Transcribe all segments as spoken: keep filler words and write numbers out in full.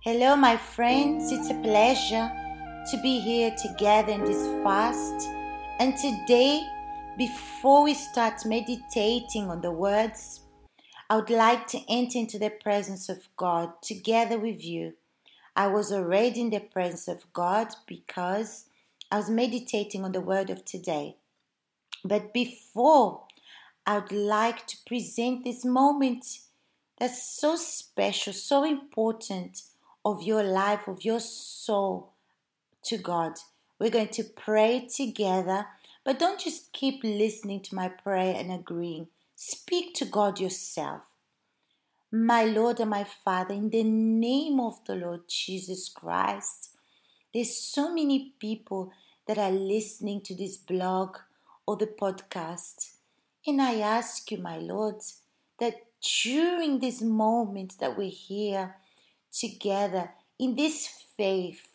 Hello, my friends. It's a pleasure to be here together in this fast. And today, before we start meditating on the words, I would like to enter into the presence of God together with you. I was already in the presence of God because I was meditating on the word of today. But before, I would like to present this moment that's so special, so important of your life, of your soul to God. We're going to pray together, but don't just keep listening to my prayer and agreeing. Speak to God yourself. My Lord and my Father, in the name of the Lord Jesus Christ, there's so many people that are listening to this blog or the podcast. And I ask you, my Lord, that during this moment that we're here together in this faith,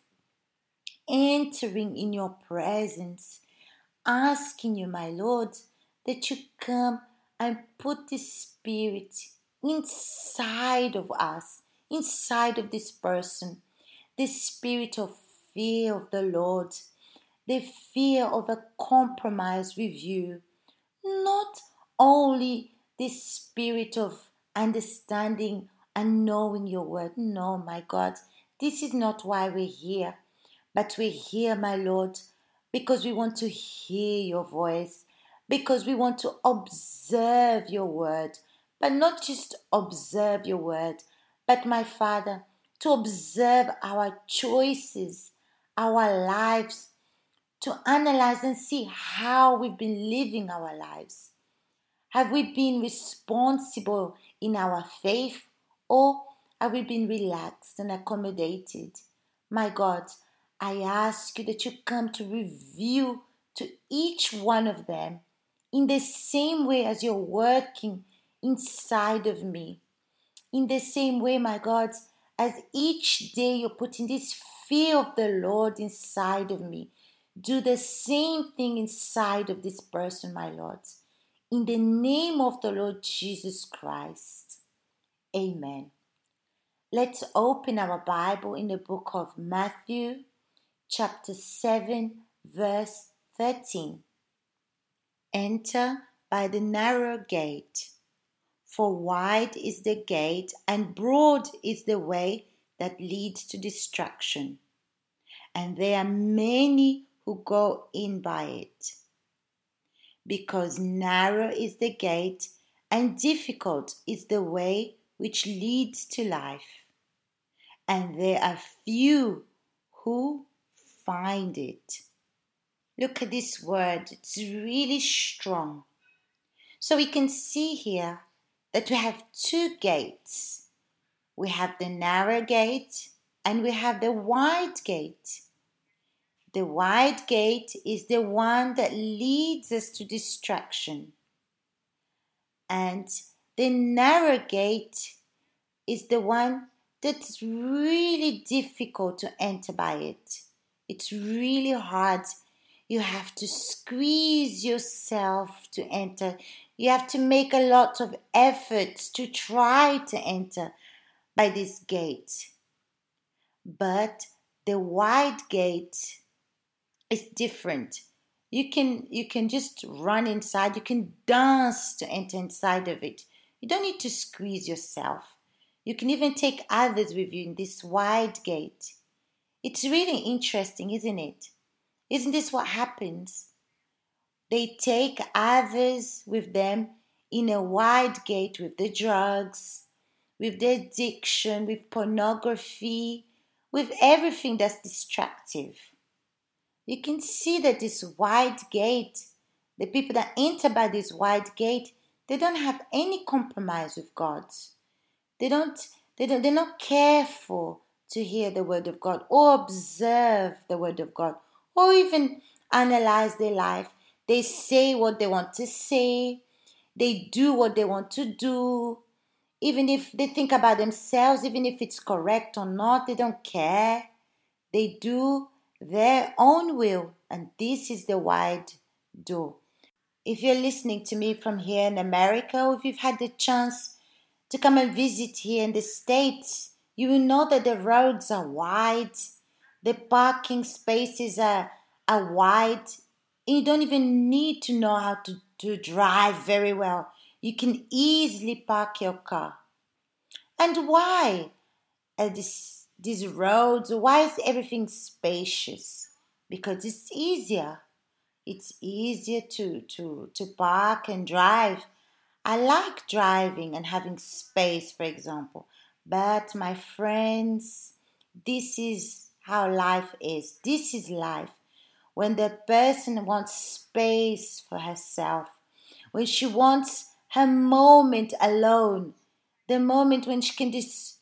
entering in your presence, asking you, my Lord, that you come and put this spirit inside of us, inside of this person, the spirit of fear of the Lord, the fear of a compromise with you, not only this spirit of understanding and knowing your word. No, my God, this is not why we're here. But we're here, my Lord, because we want to hear your voice, because we want to observe your word, but not just observe your word, but, my Father, to observe our choices, our lives, to analyze and see how we've been living our lives. Have we been responsible in our faith, or have we been relaxed and accommodated? My God, I ask you that you come to reveal to each one of them in the same way as you're working inside of me. In the same way, my God, as each day you're putting this fear of the Lord inside of me. Do the same thing inside of this person, my Lord. In the name of the Lord Jesus Christ. Amen. Let's open our Bible in the book of Matthew, chapter seven, verse thirteen. Enter by the narrow gate, for wide is the gate and broad is the way that leads to destruction, and there are many who go in by it. Because narrow is the gate and difficult is the way which leads to life, and there are few who find it. Look at this word, it's really strong. So we can see here that we have two gates. We have the narrow gate and we have the wide gate. The wide gate is the one that leads us to destruction. And the narrow gate is the one that's really difficult to enter by it. It's really hard. You have to squeeze yourself to enter. You have to make a lot of efforts to try to enter by this gate. But the wide gate is different. You can you can just run inside. You can dance to enter inside of it. You don't need to squeeze yourself. You can even take others with you in this wide gate. It's really interesting, isn't it? Isn't this what happens? They take others with them in a wide gate with the drugs, with the addiction, with pornography, with everything that's destructive. You can see that this wide gate, the people that enter by this wide gate, they don't have any compromise with God. They don't, they don't, they're not careful to hear the word of God or observe the word of God or even analyze their life. They say what they want to say. They do what they want to do. Even if they think about themselves, even if it's correct or not, they don't care. They do their own will, and this is the wide door. If you're listening to me from here in America, or if you've had the chance to come and visit here in the States, You will know that the roads are wide, the parking spaces are, are wide. You don't even need to know how to, to drive very well. You can easily park your car. And why are this, these roads, why is everything spacious? Because it's easier. It's easier to, to, to park and drive. I like driving and having space, for example. But my friends, this is how life is. This is life. When the person wants space for herself, when she wants her moment alone, the moment when she can dis-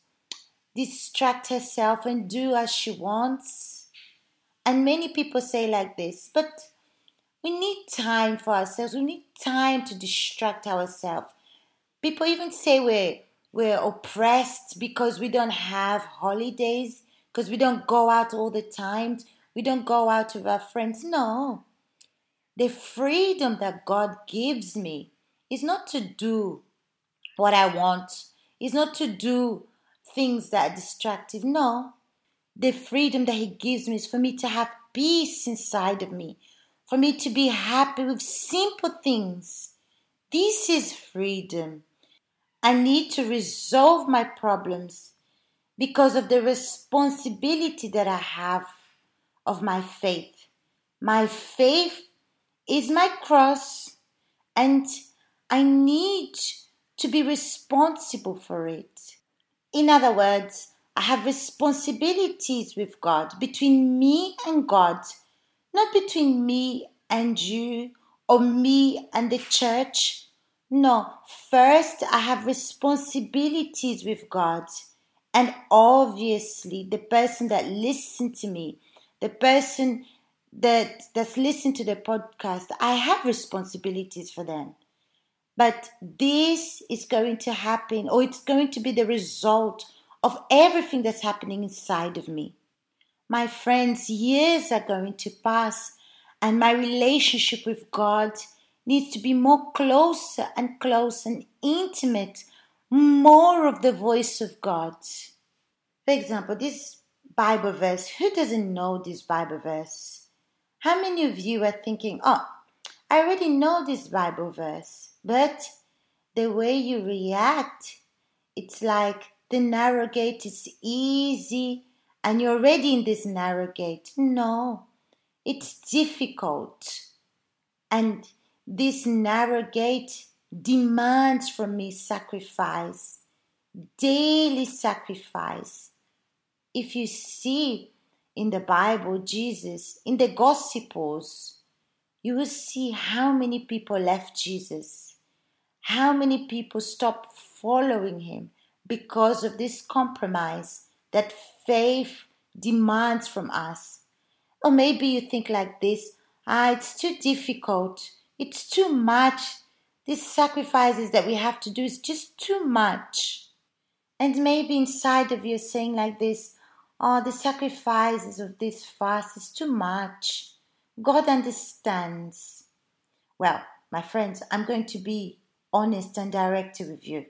distract herself and do as she wants. And many people say like this, but we need time for ourselves. We need time to distract ourselves. People even say we're, we're oppressed because we don't have holidays, because we don't go out all the time. We don't go out with our friends. No. The freedom that God gives me is not to do what I want. It's not to do things that are distractive. No. The freedom that He gives me is for me to have peace inside of me, for me to be happy with simple things. This is freedom. I need to resolve my problems because of the responsibility that I have of my faith. My faith is my cross, and I need to be responsible for it. In other words, I have responsibilities with God, between me and God, not between me and you or me and the church. No, first I have responsibilities with God. And obviously, the person that listened to me, the person that that's listened to the podcast, I have responsibilities for them. But this is going to happen, or it's going to be the result of everything that's happening inside of me. My friends, years are going to pass, and my relationship with God needs to be more closer and close and intimate, more of the voice of God. For example, this Bible verse, who doesn't know this Bible verse? How many of you are thinking, oh, I already know this Bible verse, but the way you react, it's like the narrow gate is easy and you're already in this narrow gate. No, it's difficult. And this narrow gate demands from me sacrifice, daily sacrifice. If you see in the Bible, Jesus, in the Gospels, you will see how many people left Jesus, how many people stopped following Him because of this compromise that faith demands from us. Or maybe you think like this, ah, it's too difficult, it's too much. These sacrifices that we have to do is just too much. And maybe inside of you saying like this, oh, the sacrifices of this fast is too much. God understands. Well, my friends, I'm going to be honest and direct with you.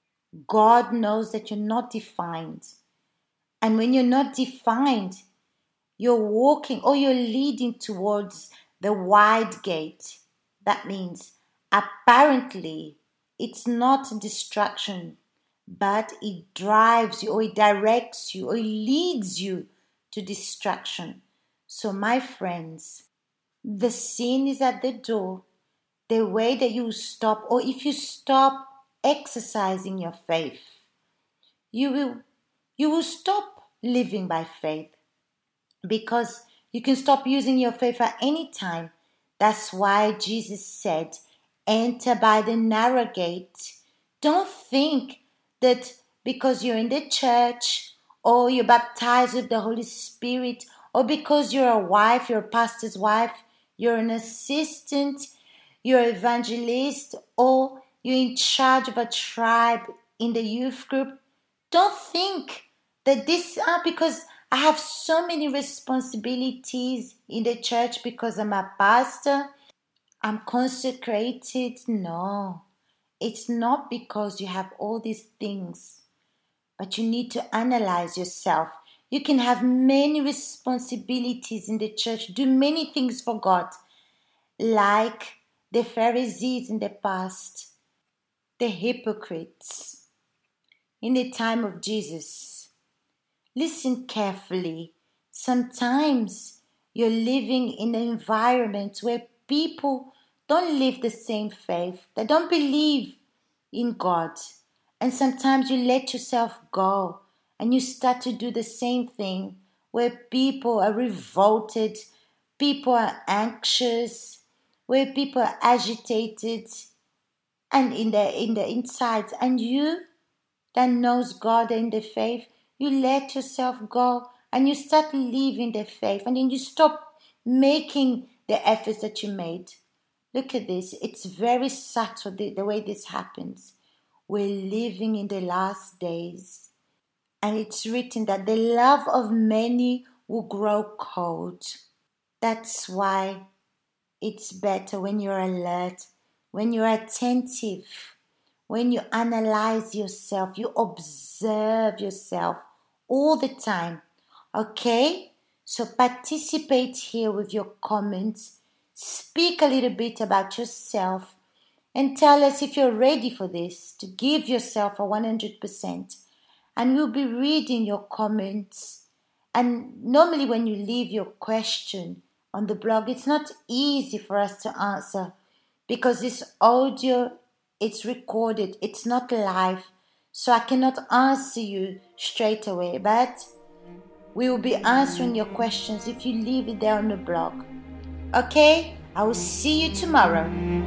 God knows that you're not defined. And when you're not defined, you're walking or you're leading towards the wide gate. That means apparently it's not a distraction, but it drives you or it directs you or it leads you to distraction. So my friends, the sin is at the door. The way that you stop, or if you stop exercising your faith, you will you will stop living by faith, because you can stop using your faith at any time. That's why Jesus said, enter by the narrow gate. Don't think that because you're in the church or you're baptized with the Holy Spirit or because you're a wife, you're a pastor's wife, you're an assistant, you're an evangelist, or you're in charge of a tribe in the youth group. Don't think that this, ah, because I have so many responsibilities in the church because I'm a pastor, I'm consecrated. No, it's not because you have all these things. but you need to analyze yourself. You can have many responsibilities in the church, do many things for God, like the Pharisees in the past, the hypocrites in the time of Jesus. Listen carefully. Sometimes you're living in an environment where people don't live the same faith. They don't believe in God. And sometimes you let yourself go and you start to do the same thing where people are revolted, people are anxious, where people are agitated and in the in the insides. And you that knows God and the faith, you let yourself go and you start living the faith, and then you stop making the efforts that you made. Look at this. It's very subtle the, the way this happens. We're living in the last days. And it's written that the love of many will grow cold. That's why it's better when you're alert, when you're attentive, when you analyze yourself, you observe yourself all the time. Okay? So participate here with your comments. Speak a little bit about yourself and tell us if you're ready for this, to give yourself a one hundred percent. And we'll be reading your comments. And normally when you leave your question on the blog, it's not easy for us to answer because this audio, it's recorded, it's not live. So I cannot answer you straight away, but we will be answering your questions if you leave it there on the blog. Okay? I will see you tomorrow.